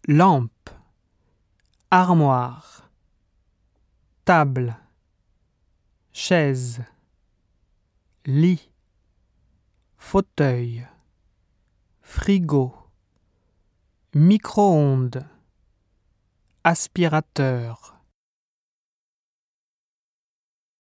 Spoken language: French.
lampe, armoire, table, chaise, lit, fauteuil, frigo, micro-ondes, aspirateur,